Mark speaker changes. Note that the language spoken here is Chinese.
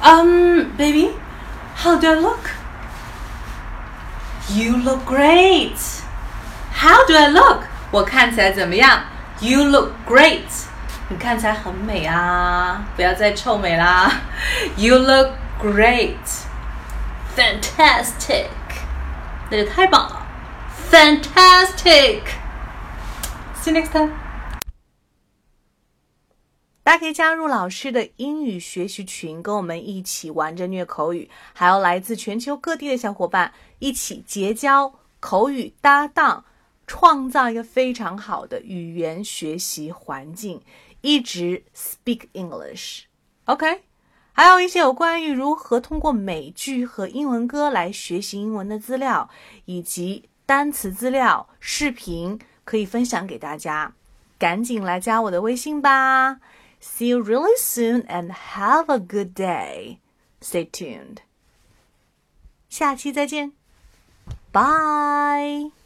Speaker 1: Baby, how do I look? You look great. How do I look? 我看起来怎么样 ？You look great. 你看起来很美啊！不要再臭美啦。You look great. Fantastic. 那就太棒了。Fantastic. See you next time. 大家可以加入老师的英语学习群，跟我们一起玩着虐口语，还有来自全球各地的小伙伴一起结交口语搭档，创造一个非常好的语言学习环境，一直 speak English。OK？ 还有一些有关于如何通过美剧和英文歌来学习英文的资料，以及单词资料、视频可以分享给大家，赶紧来加我的微信吧。See you really soon and have a good day. Stay tuned. 下期再见。Bye.